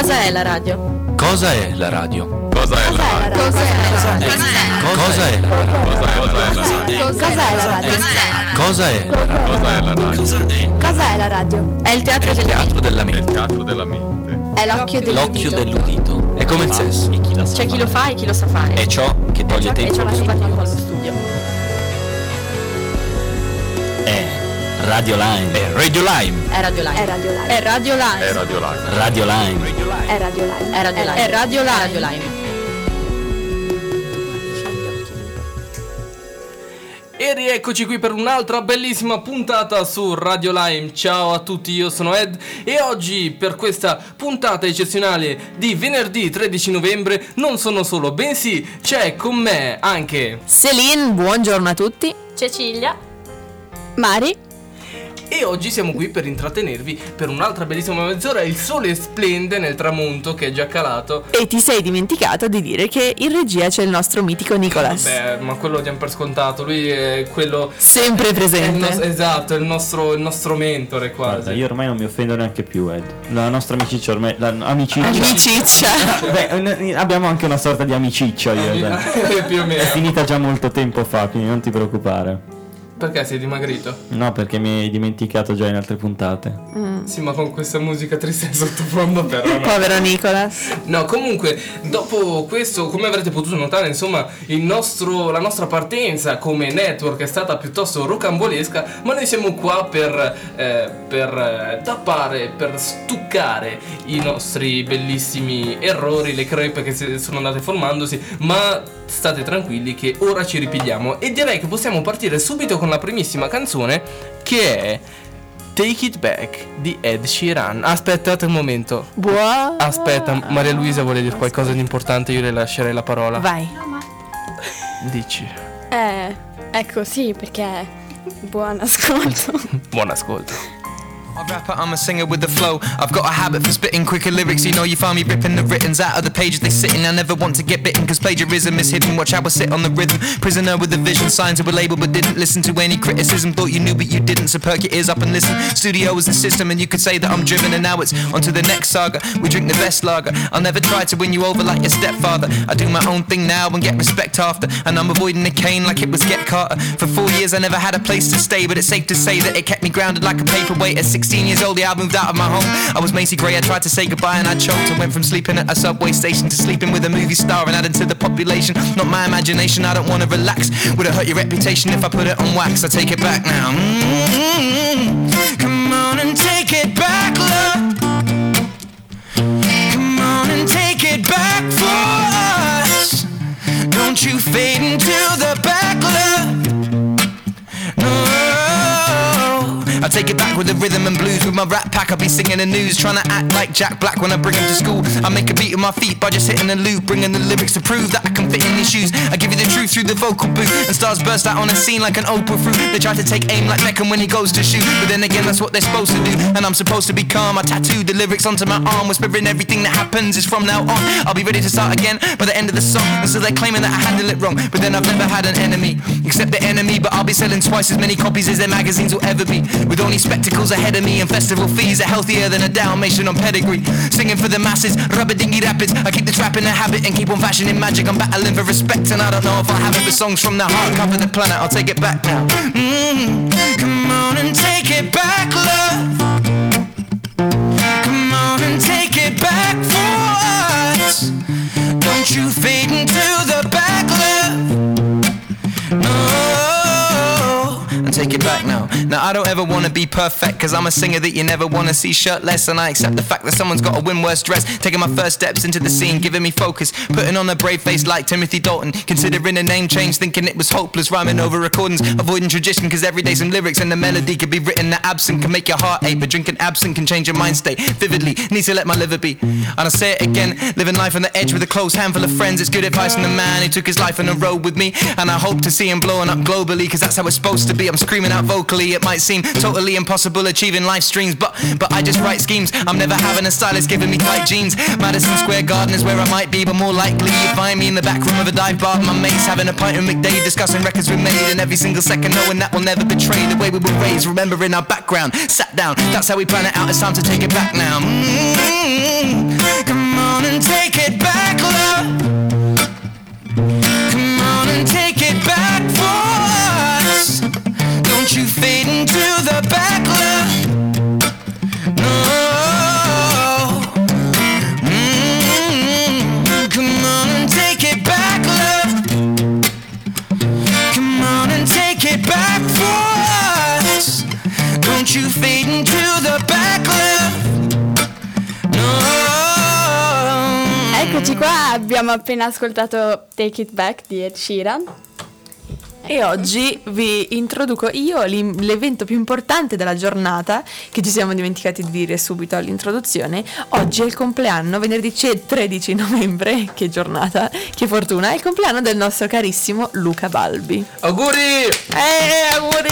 Cosa è la radio? Cosa è la radio? Cosa è la radio? Cosa è la radio? Cosa è la radio? Cosa è la radio? Cosa è la radio? Cosa è la radio? Cosa è la radio? È il teatro Della Il mente. teatro della mente. È l'occhio L'occhio dell'udito. dell'udito. È come il sesso. C'è chi lo fa e chi lo sa fare. È ciò che toglie E tempo ciò che fa tempo allo studio. È Radio Lime. È Radio Lime. È Radio Live. È Radio Live. È Radio Live. È Radio Live. Radio Lime. È Radio Live. È Radio Live. È Radio Live. E rieccoci qui per un'altra bellissima puntata su Radio Lime. Ciao a tutti, io sono Ed e oggi per questa puntata eccezionale di venerdì 13 novembre non sono solo, bensì c'è con me anche Celine, buongiorno a tutti. Cecilia. Mari. e oggi siamo qui per intrattenervi per un'altra bellissima mezz'ora. Il sole splende nel tramonto che è già calato. E ti sei dimenticato di dire che in regia c'è il nostro mitico Nicolas. Beh, ma quello lo diamo per scontato, lui è quello Sempre è il presente. esatto, è il nostro mentore quasi. Guarda, io ormai non mi offendo neanche più, Ed. La nostra amicizia ormai. Amicizia. Amiciccia. Beh, abbiamo anche una sorta di amicizia io e Ed. Più o meno. È finita già molto tempo fa, quindi non ti preoccupare. Perché sei dimagrito? No, perché mi hai dimenticato già in altre puntate. Sì, ma con questa musica triste in sottofondo però no. Povero Nicolas. No, comunque, dopo questo, come avrete potuto notare, insomma, la nostra partenza come network è stata piuttosto rocambolesca, ma noi siamo qua per tappare, per stuccare i nostri bellissimi errori, le crepe che sono andate formandosi, ma state tranquilli che ora ci ripigliamo e direi che possiamo partire subito con la primissima canzone che è Take It Back di Ed Sheeran. Aspettate un momento. Aspetta, Maria Luisa vuole dire qualcosa di importante, io le lascerei la parola. Vai. Dici. Ecco, sì, perché buon ascolto. Buon ascolto. I'm a rapper, I'm a singer with the flow. I've got a habit for spitting quicker lyrics. You know you find me ripping the writtens out of the pages they sit in. I never want to get bitten cause plagiarism is hidden. Watch how I sit on the rhythm. Prisoner with a vision, signed to a label but didn't listen to any criticism. Thought you knew but you didn't, so perk your ears up and listen. Studio is the system and you could say that I'm driven. And now it's on to the next saga. We drink the best lager. I'll never try to win you over like your stepfather. I do my own thing now and get respect after. And I'm avoiding the cane like it was Get Carter. For 4 years I never had a place to stay, but it's safe to say that it kept me grounded like a paperweight. At 16 years old, yeah, I moved out of my home. I was Macy Gray, I tried to say goodbye and I choked. I went from sleeping at a subway station to sleeping with a movie star and adding to the population. Not my imagination, I don't wanna relax. Would it hurt your reputation if I put it on wax? I take it back now. Come on and take it back, love. Come on and take it back for us. Don't you fade into the back, love. No, I take it back with the rhythm and blues. With my rap pack I'll be singing the news, trying to act like Jack Black when I bring him to school. I make a beat with my feet by just hitting the loop, bringing the lyrics to prove that I can fit in these shoes. I give you the truth through the vocal booth, and stars burst out on the scene like an Oprah fruit. They try to take aim like Beckham when he goes to shoot, but then again that's what they're supposed to do. And I'm supposed to be calm. I tattooed the lyrics onto my arm, whispering everything that happens is from now on. I'll be ready to start again by the end of the song. And so they're claiming that I handle it wrong, but then I've never had an enemy except the enemy. But I'll be selling twice as many copies as their magazines will ever be, with only spectacles ahead of me and festival fees are healthier than a Dalmatian on pedigree. Singing for the masses, rubber dingy rapids. I keep the trap in a habit and keep on fashioning magic. I'm battling for respect and I don't know if I'll have it, but songs from the heart cover the planet. I'll take it back now. Come on and take it back, love. Come on and take it back for us. Don't you fade into the back, love. No, and take it back now. Now I don't ever wanna be perfect, cause I'm a singer that you never wanna see shirtless. And I accept the fact that someone's gotta win worse dress. Taking my first steps into the scene, giving me focus, putting on a brave face like Timothy Dalton. Considering a name change, thinking it was hopeless. Rhyming over recordings, avoiding tradition, cause every day some lyrics and the melody could be written that absent can make your heart ache. But drinking absent can change your mind state vividly. Need to let my liver be. And I say it again, living life on the edge with a close handful of friends. It's good advice from the man who took his life on the road with me. And I hope to see him blowing up globally, cause that's how it's supposed to be. I'm screaming out vocally, it might seem totally impossible achieving life streams, but I just write schemes. I'm never having a stylist giving me tight jeans. Madison Square Garden is where I might be, but more likely you find me in the back room of a dive bar with my mates, having a pint with McDade, discussing records we made, and every single second knowing that we'll never betray the way we were raised, remembering our background, sat down, that's how we plan it out. It's time to take it back now. Come it back, love. Come on and take it back for us. Don't you fade into the back, love. No. Come on and take it back, love. Come on and take it back for us. Don't you fade into the back, love. No. Eccoci qua, abbiamo appena ascoltato Take It Back di Ed Sheeran. E oggi vi introduco io l'evento più importante della giornata, che ci siamo dimenticati di dire subito all'introduzione. Oggi è il compleanno, venerdì 13 novembre, che giornata, che fortuna, è il compleanno del nostro carissimo Luca Balbi. Auguri! Auguri!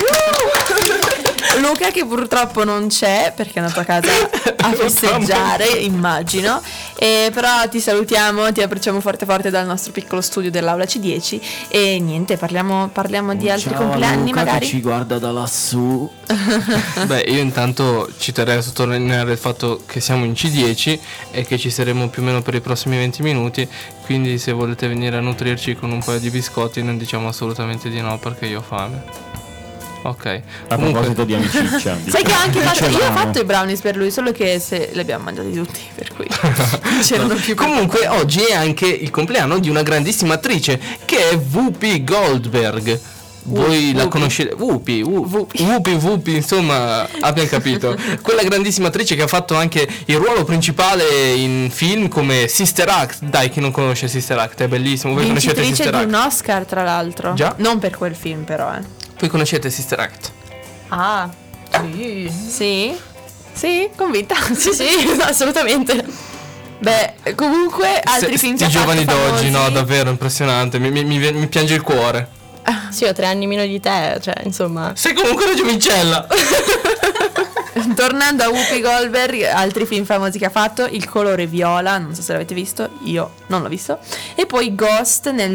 Luca che purtroppo non c'è perché è andato a casa a festeggiare, immagino, però ti salutiamo, ti abbracciamo forte forte dal nostro piccolo studio dell'Aula C10 e niente, parliamo di altri compleanni Luca, magari. che ci guarda da lassù. Beh, io intanto ci terrei a sottolineare il fatto che siamo in C10 e che ci saremo più o meno per i prossimi 20 minuti, quindi se volete venire a nutrirci con un paio di biscotti non diciamo assolutamente di no perché io ho fame. Ok. A proposito di amicizia. Sai che ho anche fatto, io ho dicevamo. fatto i brownies per lui, solo che se li abbiamo mangiati tutti, per cui non c'erano più. Comunque oggi è anche il compleanno di una grandissima attrice che è Whoopi Goldberg. Voi la conoscete? Whoopi, insomma, abbiamo capito. Quella grandissima attrice che ha fatto anche il ruolo principale in film come Sister Act. Dai, chi non conosce Sister Act, è bellissimo. Voi conoscete Vincitrice Sister di un Act? Oscar, tra l'altro. Già? Non per quel film, però, Voi conoscete Sister Act? Ah, sì. Sì? Sì, convinta. Sì, assolutamente. Beh, comunque altri film che i ha fatto giovani d'oggi, no, famosi. davvero impressionante. Mi piange il cuore. Sì, ho 3 anni meno di te, cioè, insomma. Sei comunque una giovincella. Tornando a Whoopi Goldberg, altri film famosi che ha fatto: Il colore viola, non so se l'avete visto, io non l'ho visto, e poi Ghost nel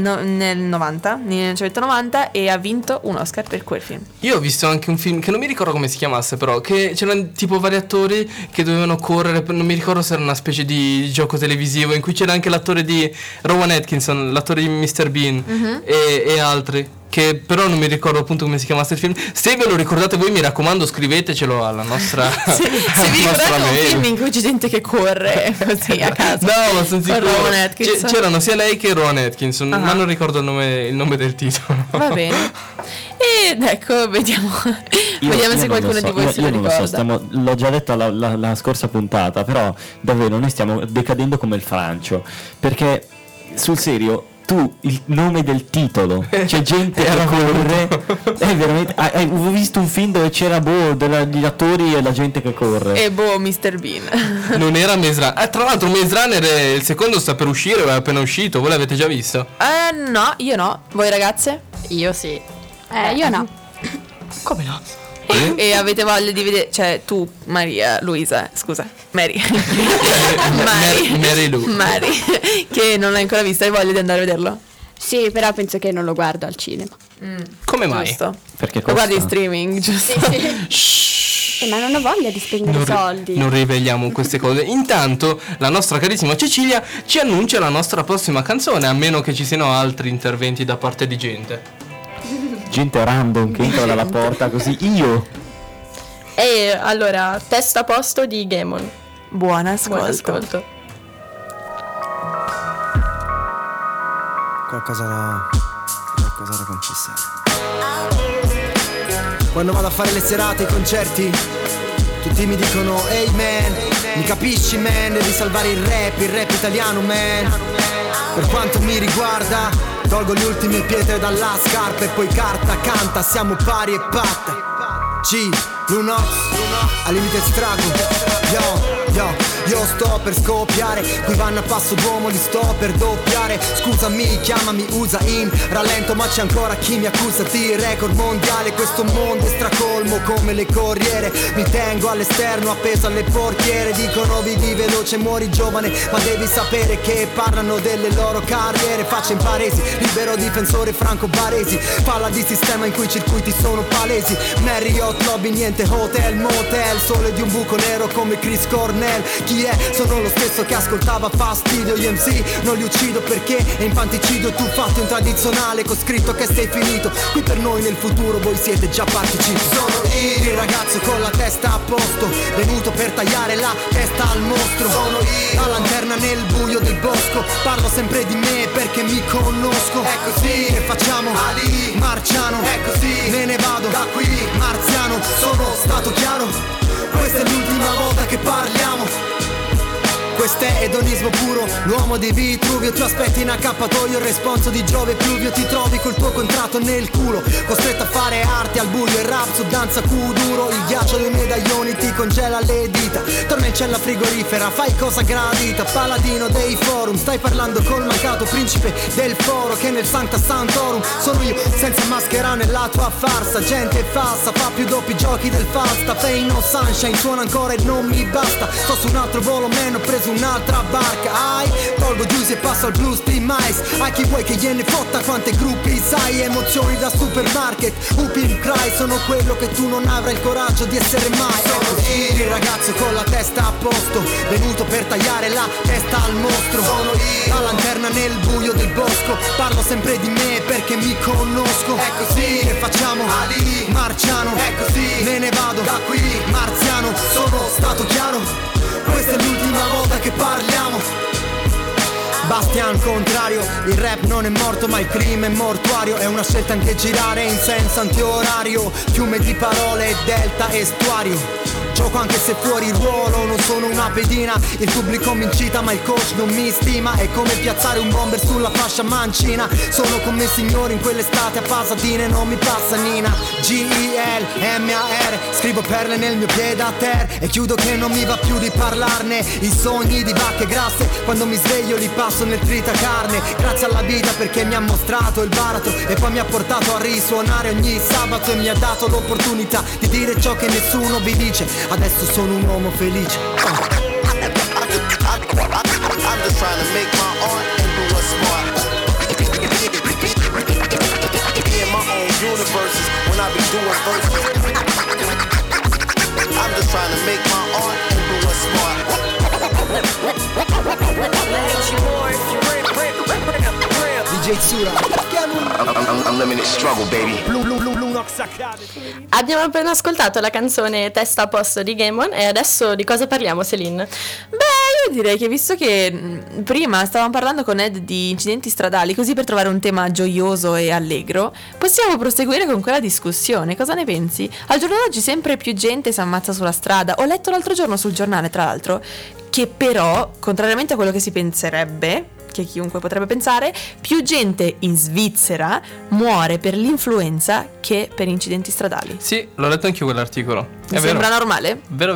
1990, e ha vinto un Oscar per quel film. Io ho visto anche un film che non mi ricordo come si chiamasse, però che c'erano tipo vari attori che dovevano correre, non mi ricordo se era una specie di gioco televisivo in cui c'era anche l'attore di Rowan Atkinson, l'attore di Mr. Bean, e altri, che però non mi ricordo appunto come si chiamasse il film. Se ve lo ricordate voi, mi raccomando, scrivetecelo alla nostra Se vi ricordate un film in cui c'è gente che corre così a caso. No, ma sono sicuro. Rowan Atkinson. C'erano sia lei che Rowan Atkinson, ma non ricordo il nome del titolo. Va bene. Ed ecco, vediamo se qualcuno di voi se lo io non ricorda. lo so, l'ho già detto la scorsa puntata, però davvero noi stiamo decadendo come il Francio, perché sul serio tu il nome del titolo, c'è gente che corre, è veramente, ho visto un film dove c'era gli attori e la gente che corre. E Mr. Bean. Non era Maze Runner. Tra l'altro Maze Runner il secondo sta per uscire, è appena uscito. Voi l'avete già visto? No, io no. Voi ragazze? Io sì. Io no. Come no? E avete voglia di vedere, cioè tu, Luisa, scusa, Mary, che non l'hai ancora visto, hai voglia di andare a vederlo? Sì, però penso che non lo guardo al cinema. Come mai? Giusto. Perché Lo guardi in costa? streaming, giusto? Ma non ho voglia di spendere soldi. Non riveliamo queste cose. Intanto la nostra carissima Cecilia ci annuncia la nostra prossima canzone, a meno che ci siano altri interventi da parte di gente. Gente random che entra dalla porta così. Io E allora, Testa a posto di Gamon. Buon Buon ascolto. ascolto. Qualcosa da confessare. Quando vado a fare le serate, i concerti, tutti mi dicono ehi man, mi capisci man, devi salvare il rap italiano man. Per quanto mi riguarda, tolgo le ultime pietre dalla scarpa e poi carta canta, siamo pari e patta. G, Lunox, al limite strago. Io sto per scoppiare, qui vanno a passo d'uomo, li sto per doppiare. Scusami, chiamami, usa in rallento, ma c'è ancora chi mi accusa di record mondiale. Questo mondo è stracolmo come le corriere, mi tengo all'esterno appeso alle portiere. Dicono vivi veloce, muori giovane, ma devi sapere che parlano delle loro carriere. Faccia in paresi, libero difensore Franco Baresi, palla di sistema in cui i circuiti sono palesi. Marriott, lobby, niente hotel, motel, sole di un buco nero come Chris Cornell. Cornell. Chi è? Sono lo stesso che ascoltava Fastidio. Gli MC non li uccido perché è infanticidio. Tu fatti un tradizionale con scritto che sei finito. Qui per noi nel futuro voi siete già partiti. Sono io, il ragazzo con la testa a posto, venuto per tagliare la testa al mostro. Sono io, la lanterna nel buio del bosco. Parlo sempre di me perché mi conosco. È così che facciamo Ali, Marciano. È così, me ne vado da qui, marziano. Sono stato chiaro, questa è l'ultima volta che parliamo. Questo è edonismo puro, l'uomo di Vitruvio. Ti aspetti in accappatoio, il responso di Giove Pluvio. Ti trovi col tuo contratto nel culo, costretto a fare arte al buio. Il rap su danza kuduro, il ghiaccio dei medaglioni ti congela le dita. Tornencella frigorifera, fai cosa gradita. Paladino dei forum, stai parlando col mancato principe del foro che nel Sancta Sanctorum. Sono io senza maschera nella tua farsa. Gente falsa, fa più doppi giochi del Fasta. Fame no sunshine, suona ancora e non mi basta. Sto su un altro volo, man, ho preso un'altra barca. Ai, tolgo Juicy e passo al Blue Steam Ice. A chi vuoi che gliene fotta quante gruppi sai. Emozioni da supermarket, Upim Cry. Sono quello che tu non avrai il coraggio di essere mai. Sono io, il ragazzo con la testa a posto, venuto per tagliare la testa al mostro. Sono io, la lanterna nel buio del bosco. Parlo sempre di me perché mi conosco. È così che facciamo Ali, Marciano. È così, me ne vado da qui, marziano. Sono stato chiaro, questa è l'ultima volta che parliamo. Bastian contrario, il rap non è morto ma il crimine è mortuario. È una scelta anche girare in senso antiorario. Fiume di parole, delta, estuario. Gioco anche se fuori ruolo, non sono una pedina. Il pubblico mi incita ma il coach non mi stima. È come piazzare un bomber sulla fascia mancina. Sono come signori in quell'estate a Pasadena e non mi passa Nina. G-I-L-M-A-R, scrivo perle nel mio piede a terra. E chiudo che non mi va più di parlarne. I sogni di vacche grasse, quando mi sveglio li passo nel tritacarne. Grazie alla vita perché mi ha mostrato il baratro e poi mi ha portato a risuonare ogni sabato. E mi ha dato l'opportunità di dire ciò che nessuno vi dice. Adesso sono un uomo felice. I'm just trying to make my art and do what's smart. Be in my own universes when I be doing verses. I'm just trying to make my art and do what's smart. DJ Tsura. Unlimited struggle, baby. Abbiamo appena ascoltato la canzone Testa a posto di Gamon e adesso di cosa parliamo, Celine? Beh, io direi che visto che prima stavamo parlando con Ed di incidenti stradali, così per trovare un tema gioioso e allegro, possiamo proseguire con quella discussione. Cosa ne pensi? Al giorno d'oggi sempre più gente si ammazza sulla strada. Ho letto l'altro giorno sul giornale, tra l'altro, che però, contrariamente a quello che si penserebbe, che chiunque potrebbe pensare, più gente in Svizzera muore per l'influenza che per incidenti stradali. Sì, l'ho letto anch'io quell'articolo. Mi sembra normale? Vero.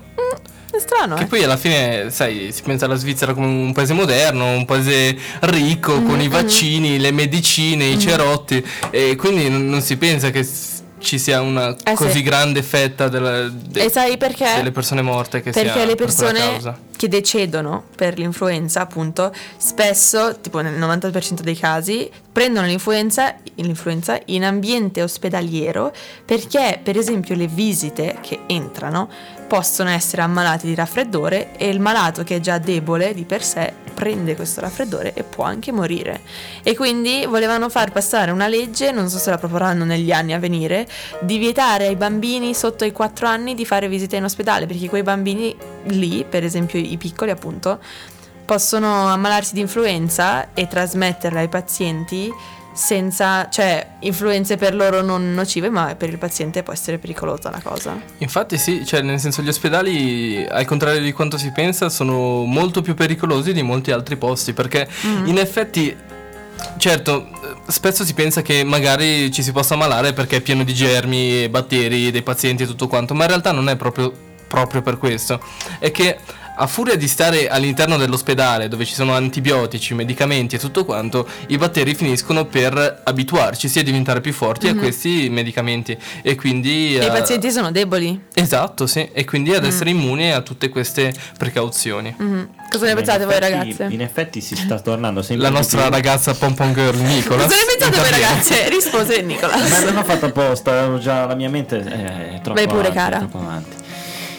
È strano, Che poi alla fine, sai, si pensa alla Svizzera come un paese moderno, un paese ricco, con i vaccini, le medicine, i cerotti, e quindi non si pensa che ci sia una così grande fetta e sai perché? Delle persone morte che perché sia le per quella persone causa. Che decidono per l'influenza, appunto, spesso, tipo nel 90% dei casi, prendono l'influenza in ambiente ospedaliero perché, per esempio, le visite che entrano possono essere ammalati di raffreddore e il malato che è già debole di per sé prende questo raffreddore e può anche morire. E quindi volevano far passare una legge, non so se la proporranno negli anni a venire, di vietare ai bambini sotto i 4 anni di fare visite in ospedale, perché quei bambini lì, per esempio i piccoli appunto, possono ammalarsi di influenza e trasmetterla ai pazienti senza, cioè, influenze per loro non nocive, ma per il paziente può essere pericolosa la cosa. Infatti sì, cioè nel senso gli ospedali, al contrario di quanto si pensa, sono molto più pericolosi di molti altri posti, perché in effetti, certo, spesso si pensa che magari ci si possa ammalare perché è pieno di germi, batteri dei pazienti e tutto quanto, ma in realtà non è proprio per questo. È che a furia di stare all'interno dell'ospedale dove ci sono antibiotici, medicamenti e tutto quanto, i batteri finiscono per abituarci sia a diventare più forti a questi medicamenti e quindi i pazienti sono deboli. Esatto, sì, e quindi ad essere immuni a tutte queste precauzioni. Cosa ne pensate voi, ragazze? In effetti si sta tornando sempre la nostra più... ragazza Pom Pom Girl Nicola. Cosa ne pensate voi, ragazze? Rispose Nicola. Ma non ho fatto apposta, avevo già la mia mente è troppo vai pure, avanti, cara. troppo avanti.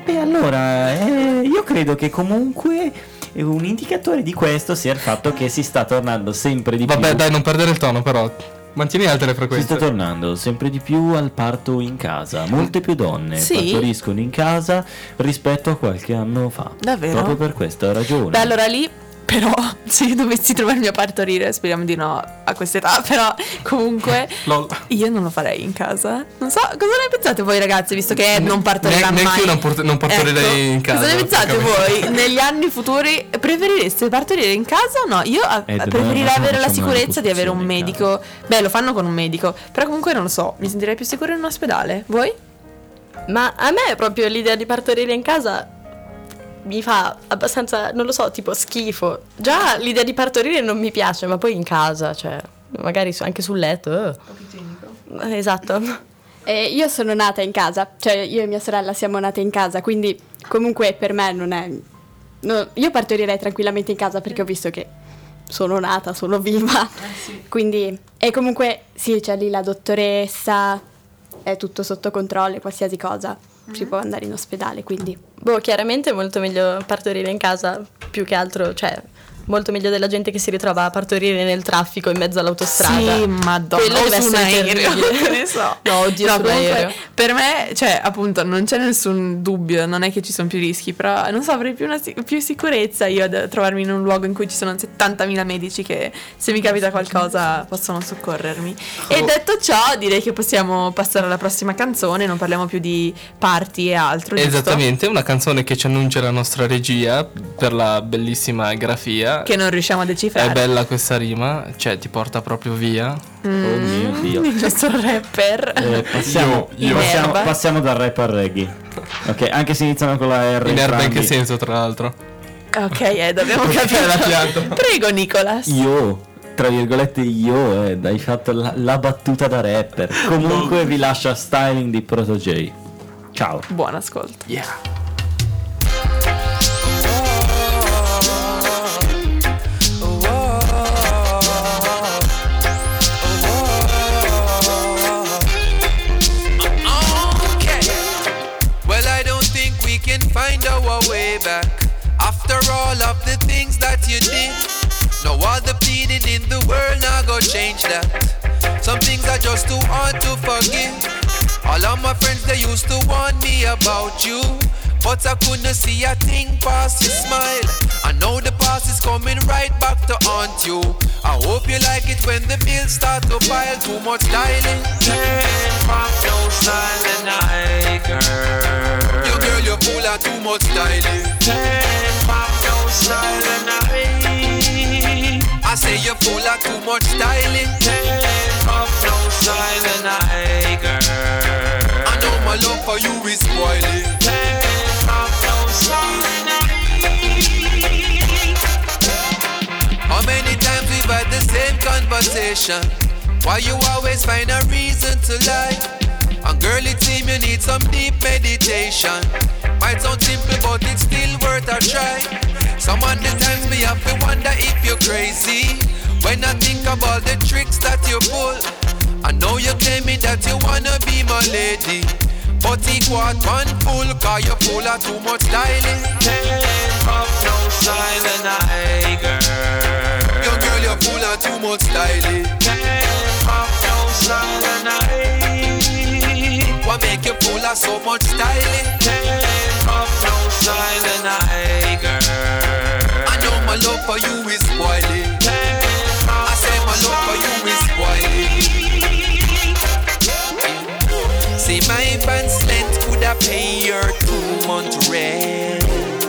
Beh, allora, io credo che comunque un indicatore di questo sia il fatto che si sta tornando sempre di più. Vabbè, dai, non perdere il tono, però. Mantieni alte le Si frequenze. sta tornando sempre di più al parto in casa. Molte più donne Sì? partoriscono in casa rispetto a qualche anno fa. Davvero? Proprio per questa ragione. Beh, allora lì, però, se io dovessi trovarmi a partorire, speriamo di no a quest'età, però comunque Lol. io non lo farei in casa. Non so, cosa ne pensate voi ragazzi, visto che non partorirà mai? Neanche io non partorirei Ecco, in casa. Cosa ne pensate francamente. voi? Negli anni futuri preferireste partorire in casa o no? Io preferirei non avere la facciamo una sicurezza di avere un posizione in medico. Beh, lo fanno con un medico, però comunque non lo so, mi sentirei più sicura in un ospedale. Voi? Ma a me proprio l'idea di partorire in casa mi fa abbastanza, non lo so, tipo schifo. Già l'idea di partorire non mi piace, ma poi in casa, cioè, magari anche sul letto. Esatto. Io sono nata in casa, cioè io e mia sorella siamo nate in casa, quindi comunque per me non è... io partorirei tranquillamente in casa perché ho visto che sono nata, sono viva. Quindi, e comunque sì, c'è lì la dottoressa, è tutto sotto controllo, qualsiasi cosa. Si può andare in ospedale, quindi... Boh, chiaramente è molto meglio partorire in casa, più che altro, cioè, molto meglio della gente che si ritrova a partorire nel traffico in mezzo all'autostrada. Sì, madonna, Quello o deve su un essere aereo, terribile. che ne so. No, oddio, No, sull'aereo. comunque, per me, cioè, appunto, non c'è nessun dubbio, non è che ci sono più rischi, però, non so, avrei più sicurezza io ad trovarmi in un luogo in cui ci sono 70.000 medici che, se mi capita qualcosa, possono soccorrermi. E detto ciò, direi che possiamo passare alla prossima canzone, non parliamo più di party e altro, giusto? Esattamente, una canzone che ci annuncia la nostra regia per la bellissima grafia. Che non riusciamo a decifrare. È bella questa rima, cioè ti porta proprio via. Oh mio Dio. Il nostro rapper. Passiamo dal rap al reggae. Ok, anche se iniziano con la R. In erba in entrambi. che senso, tra l'altro? Ok, dobbiamo La capire. pianto. Prego, Nicolas. Io, tra virgolette, hai fatto la battuta da rapper. Comunque vi lascio a Styling di Proto J. Ciao. Buon ascolto. Yeah. Okay. Well, I don't think we can find our way back after all of the things that you did. No, all the pleading in the world now go change that. Some things are just too hard to forgive. All of my friends, they used to warn me about you, but I couldn't see a thing past your smile. I know the past is coming right back to haunt you. I hope you like it when the bills start to pile. Too much styling. Pop no style and I, girl. You girl, you're full of too much styling. Pop no style and I say you're full of too much styling. Pop no style and I, girl. I know my love for you is spoiling. Pop no style and how many times we've had the same conversation? Why you always find a reason to lie? And girl, it seems you need some deep meditation. Might sound simple, but it's still worth a try. Some of the times me have to wonder if you're crazy. When I think about the tricks that you pull, I know you tell me that you wanna be my lady, but it was one full, cause you're full of too much styling. Up no style and I, girl. Yo girl, you're full of too much styling. Up no style and I. What make you full of so much styling? Up no style and I, girl. I know my love for you is spoiling. I say my love for you is spoiling. See my pants length could have pay your 2-month rent,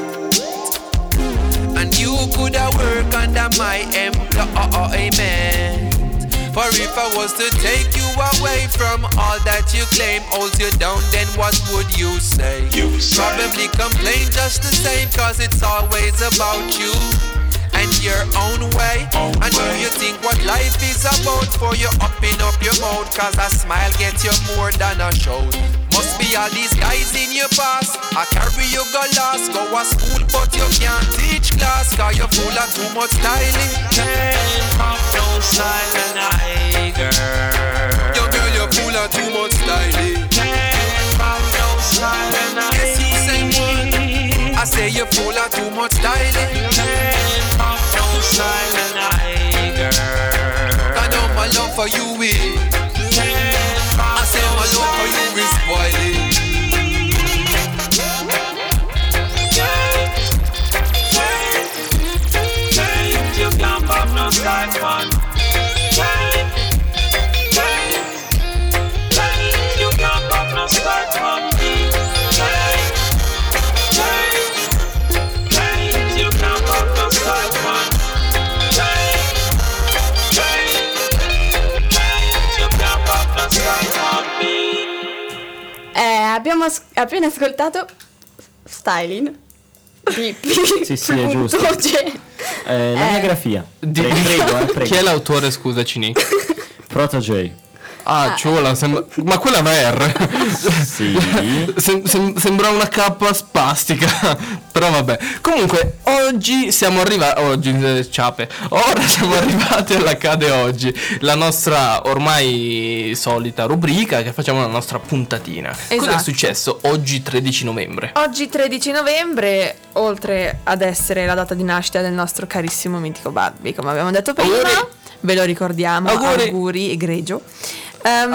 and you could have work under my employment. For if I was to take you away from all that you claim holds you down, then what would you say? Probably complain just the same, cause it's always about you and your own way. And do you think what life is about for you upping up your mouth? Cause a smile gets you more than a shout. Must be all these guys in your past. I carry you go lost. Go to school but you can't teach class, cause you're full of too much styling. Pop no style and I, girl. Yo girl, you're full of too much styling. Pop no style and I. Yes, you say more. I say you're full of too much styling. I know my love for you is. I say my love for you is spoiling. You can't pop no style, man. You can't pop no style, man. You can't pop no style, man. Abbiamo appena ascoltato Styling di Sì, è giusto. La mia grafia. Prego. Chi è l'autore, scusaci, Nick? Proto J. Ciola, ma quella è una R. Sì. Sembra una K spastica. Però vabbè. Comunque, oggi siamo arrivati. Ora siamo arrivati all'Accade Oggi, la nostra ormai solita rubrica che facciamo la nostra puntatina. Esatto. Cosa è successo oggi 13 novembre? Oggi 13 novembre, oltre ad essere la data di nascita del nostro carissimo mitico Barbie, come abbiamo detto prima, ve lo ricordiamo, auguri egregio. Nel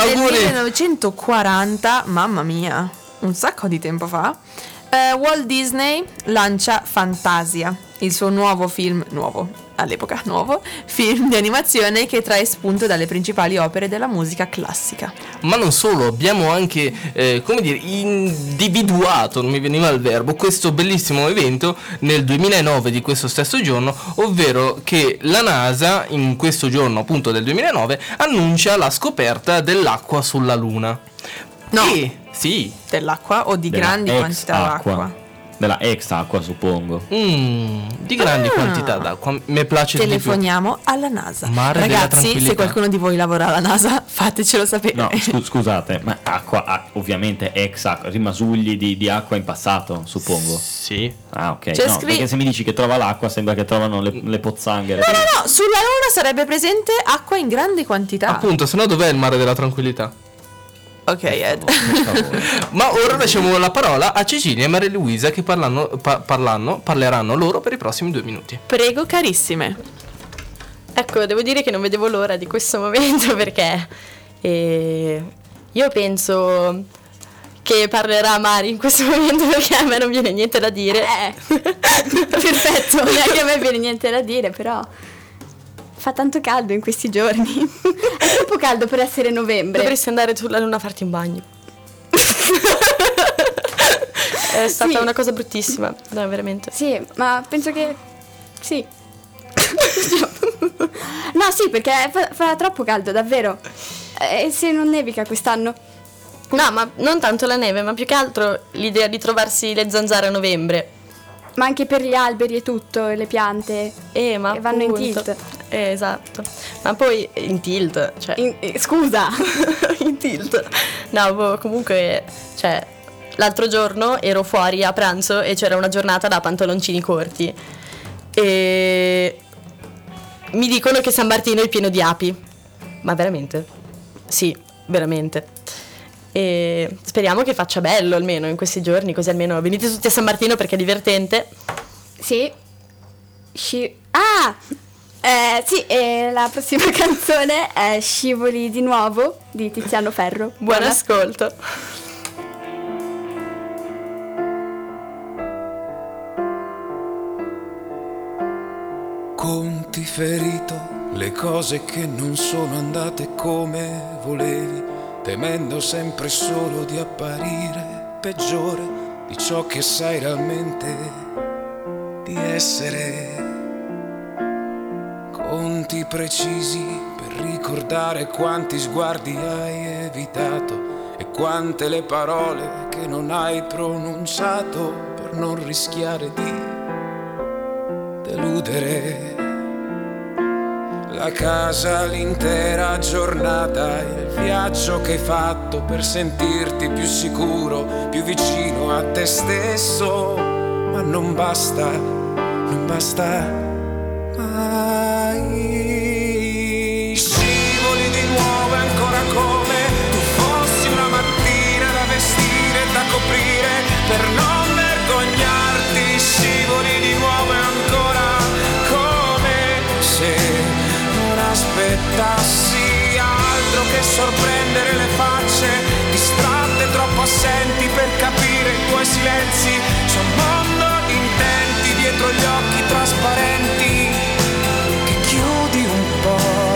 1940, mamma mia, un sacco di tempo fa, Walt Disney lancia Fantasia, il suo nuovo film, all'epoca film di animazione che trae spunto dalle principali opere della musica classica. Ma non solo, abbiamo anche, individuato, non mi veniva il verbo, questo bellissimo evento nel 2009 di questo stesso giorno, ovvero che la NASA, in questo giorno appunto del 2009, annuncia la scoperta dell'acqua sulla Luna. No, sì. Dell'acqua o di grandi quantità d'acqua? Della ex acqua, suppongo. Di grandi quantità d'acqua. Mi piace. Telefoniamo alla NASA. Mare Ragazzi, se qualcuno di voi lavora alla NASA, fatecelo sapere. No, scusate, ma acqua, ovviamente ex acqua, rimasugli di acqua in passato, suppongo. Sì. Ah, ok. No, perché se mi dici che trova l'acqua sembra che trovano le pozzanghere. No, sulla Luna sarebbe presente acqua in grandi quantità. Appunto, se no dov'è il mare della tranquillità? Ok, Ed. Ma ora lasciamo la parola a Cecilia e Maria Luisa che parleranno loro per i prossimi 2 minuti. Prego, carissime. Ecco, devo dire che non vedevo l'ora di questo momento perché io penso che parlerà Mari in questo momento perché a me non viene niente da dire. Perfetto, neanche a me viene niente da dire, però fa tanto caldo in questi giorni. È troppo caldo per essere novembre. Dovresti andare sulla Luna a farti un bagno. È stata una cosa bruttissima, no, veramente. Sì, ma penso che sì. No, sì, perché fa troppo caldo, davvero. E se non nevica quest'anno? No, ma non tanto la neve, ma più che altro l'idea di trovarsi le zanzare a novembre. Ma anche per gli alberi e tutto, e le piante ma che vanno in appunto. tilt. Esatto. Ma poi in tilt, cioè scusa. in tilt. No, comunque, cioè l'altro giorno ero fuori a pranzo e c'era una giornata da pantaloncini corti. E mi dicono che San Martino è pieno di api. Ma veramente? Sì, veramente. E speriamo che faccia bello almeno in questi giorni, così almeno venite tutti a San Martino perché è divertente. Sì. Sì, e la prossima canzone è Scivoli di nuovo di Tiziano Ferro. Buon ascolto. Conti ferito, le cose che non sono andate come volevi, temendo sempre solo di apparire peggiore di ciò che sai realmente di essere. Conti precisi per ricordare quanti sguardi hai evitato e quante le parole che non hai pronunciato per non rischiare di deludere. La casa, l'intera giornata, il viaggio che hai fatto per sentirti più sicuro, più vicino a te stesso, ma non basta mai. Scivoli di nuovo ancora come tu fossi una mattina da vestire e da coprire per non vergognarti. sorprendere le facce, distratte, troppo assenti per capire i tuoi silenzi. C'è un mondo di intenti dietro gli occhi trasparenti che chiudi un po'.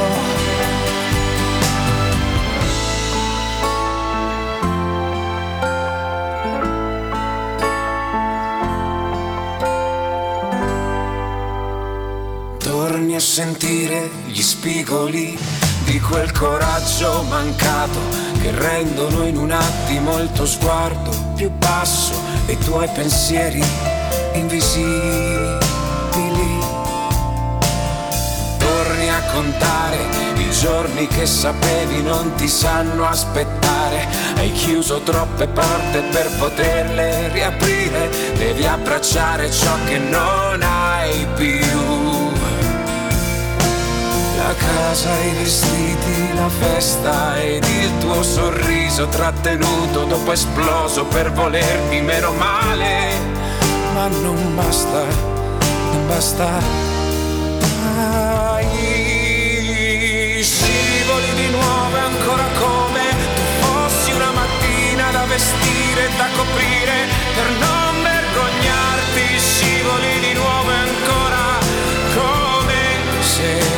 Torni a sentire gli spigoli di quel coraggio mancato che rendono in un attimo il tuo sguardo più basso e i tuoi pensieri invisibili. Torni a contare i giorni che sapevi non ti sanno aspettare. Hai chiuso troppe porte per poterle riaprire. Devi abbracciare ciò che non hai più. La casa, i vestiti, la festa ed il tuo sorriso trattenuto dopo esploso per volerti meno male. Ma non basta, non basta. Scivoli di nuovo e ancora come tu fossi una mattina da vestire e da coprire per non vergognarti. Scivoli di nuovo e ancora come se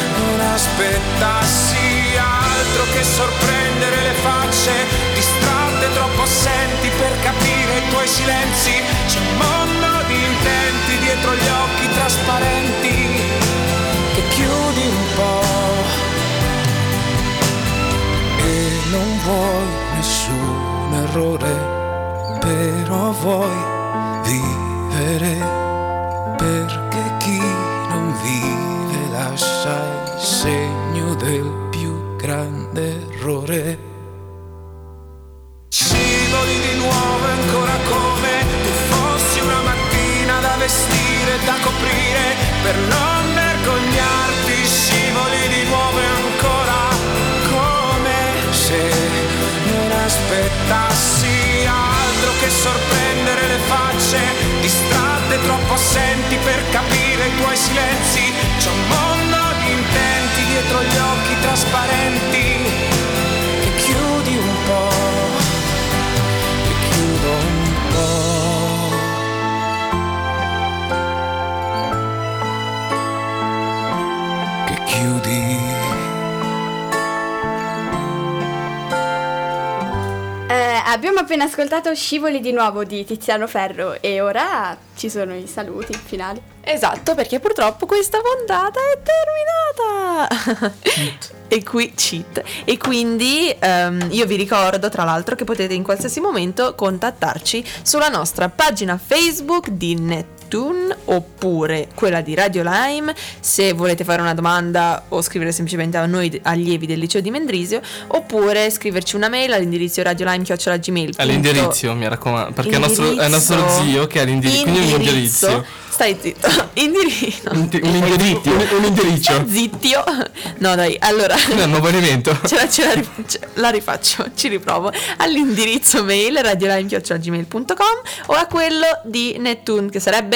aspettassi altro che sorprendere le facce, distratte, troppo assenti per capire i tuoi silenzi. C'è un mondo di intenti dietro gli occhi trasparenti che chiudi un po' e non vuoi nessun errore, però vuoi vivere, perché chi non vive lascia il segno del più grande errore. Scivoli di nuovo ancora come tu fossi una mattina da vestire e da coprire per non vergognarti. Scivoli di nuovo ancora come se non aspettassi altro che sorprendere le facce, distratte, troppo assenti per capire i tuoi silenzi. C'è un mondo di intenti dietro gli occhi trasparenti che chiudi un po', che chiudo un po', che chiudi. Abbiamo appena ascoltato Scivoli di nuovo di Tiziano Ferro e ora ci sono i saluti finali. Esatto, perché purtroppo questa puntata è terminata. E qui cheat. E quindi io vi ricordo tra l'altro che potete in qualsiasi momento contattarci sulla nostra pagina Facebook di Nettune oppure quella di Radio Lime se volete fare una domanda o scrivere semplicemente a noi allievi del liceo di Mendrisio, oppure scriverci una mail all'indirizzo radiolime@gmail.com. All'indirizzo, mi raccomando, perché è il nostro zio che ha l'indirizzo, quindi un indirizzo. Stai zitto. Un indirizzo. Zittio. No dai, allora è un nuovo elemento. La rifaccio, ci riprovo. All'indirizzo mail radiolime@gmail.com o a quello di Nettune, che sarebbe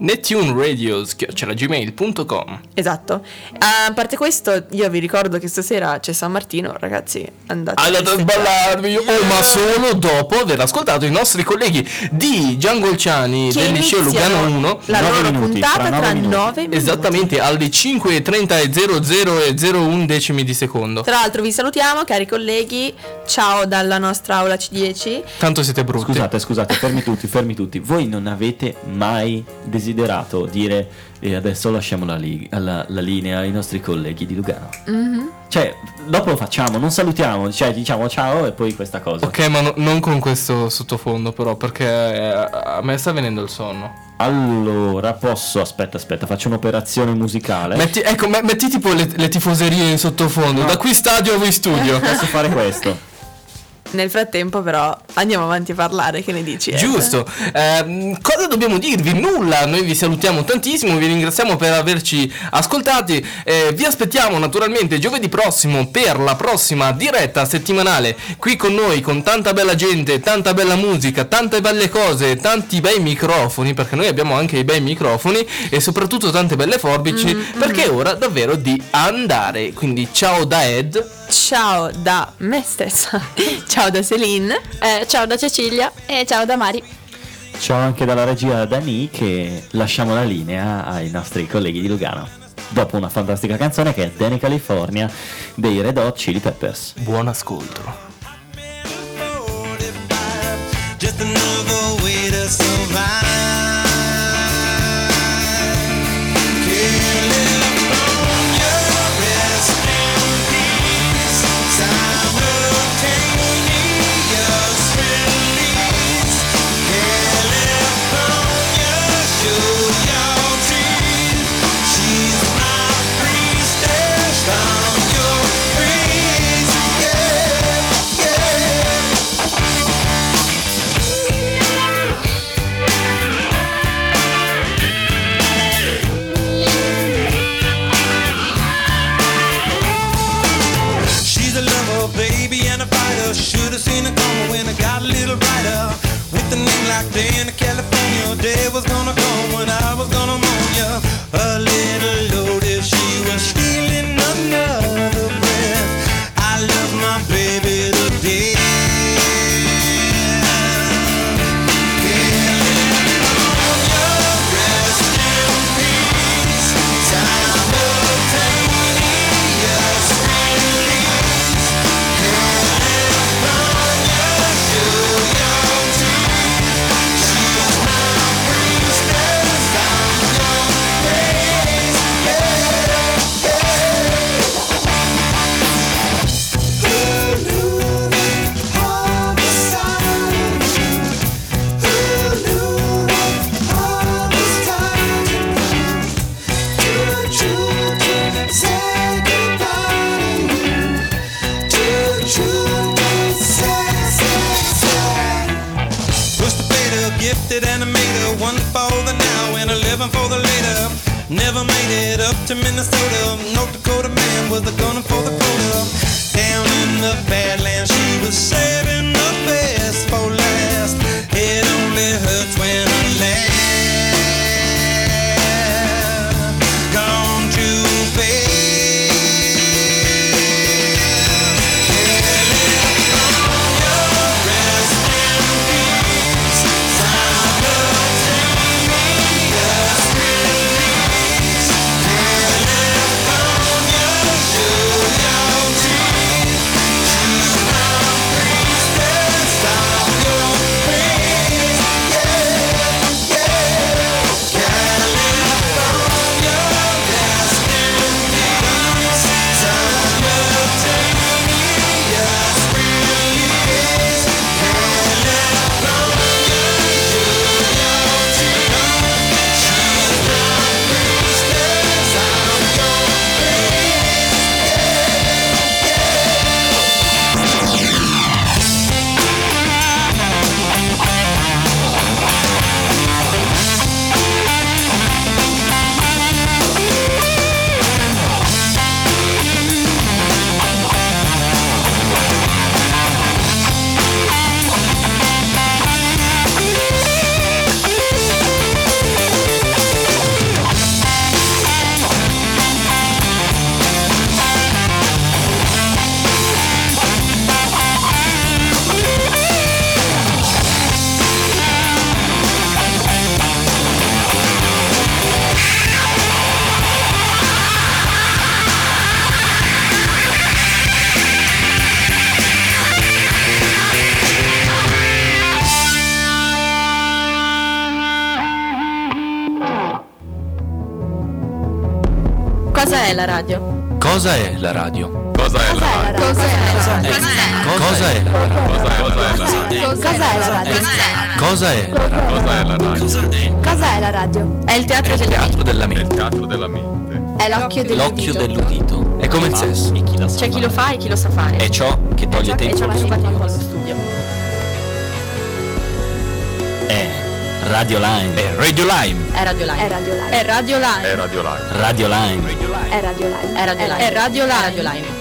nettuneradios@gmail.com. Esatto. A parte questo, io vi ricordo che stasera c'è San Martino, ragazzi, andate a sballarvi. Ma solo dopo aver ascoltato i nostri colleghi di Giangolciani del liceo Lugano 1 la loro puntata tra 9 minuti. Esattamente alle 5:30 e 00,01 decimi di secondo. Tra l'altro vi salutiamo, cari colleghi. Ciao dalla nostra aula C10. Tanto siete brutti. Scusate, fermi tutti. Voi non avete mai desiderato dire adesso lasciamo la linea ai nostri colleghi di Lugano? Mm-hmm. Cioè, dopo lo facciamo, non salutiamo, cioè diciamo ciao e poi questa cosa. Ok, ma non con questo sottofondo però, perché a me sta venendo il sonno. Allora, aspetta, faccio un'operazione musicale. Metti tipo le tifoserie in sottofondo, no. Da qui stadio a voi studio. Posso fare questo. Nel frattempo però andiamo avanti a parlare, che ne dici? Giusto. Cosa dobbiamo dirvi? Nulla, noi vi salutiamo tantissimo, vi ringraziamo per averci ascoltati, vi aspettiamo naturalmente giovedì prossimo per la prossima diretta settimanale qui con noi, con tanta bella gente, tanta bella musica, tante belle cose, tanti bei microfoni, perché noi abbiamo anche i bei microfoni e soprattutto tante belle forbici, perché è ora davvero di andare. Quindi ciao da Ed. ciao da me stessa, ciao da Celine, Ciao da Cecilia. E ciao da Mari. Ciao anche dalla regia Dani, che lasciamo la linea ai nostri colleghi di Lugano. Dopo una fantastica canzone che è Danny California dei Red Hot Chili Peppers. Buon ascolto. Just another way to survive. California, rest in peace. Simultaneous release. California, show your teeth. She's my priestess from your praise. Yeah, yeah. She's a lover, baby, and a fighter. Should've seen it coming when I got a little brighter. With a name like Danny California, day was gonna come when I was gonna moan ya. A little loaded, she was stealing another breath. I love my baby to death. California, rest in peace. Simultaneous release. California, show your teeth. She's my priestess, I'm your praise. All the signs. Who knew all this time? Did you say goodbye to you? Did you say? Push the fader, gifted animator, one for the now and 11 for the later. Never made it up to Minnesota. North Dakota man was a gunner for the quota. Down in the Badlands, she was saving the best for last. It only hurts when I laugh. Gone too fast. California, rest in peace. Simultaneous release. California, show your teeth. She's my priestess, I'm your praise. Yeah, yeah. California, rest in peace. Simultaneous release. California, show your teeth. She's my priestess, I'm your Cosa è la radio? Cosa è la radio? Cos'è la radio? Cosa è la radio? Cos'è la radio? Cosa è la radio? Cos'è la radio? È il teatro È il della teatro della mente. È l'occhio L'occhio dell'udito. dell'udito. È come il sesso. C'è chi lo fa e chi lo sa fare. È ciò che toglie e tempo ciò che allo fa studio. tempo allo studio. È Radio Line. È Radio Lime. È Radio Line. È Radio Line. È Radio Line. Radio Line. È Radio Line. È Radio Line. È Radio Line. È Radio Line.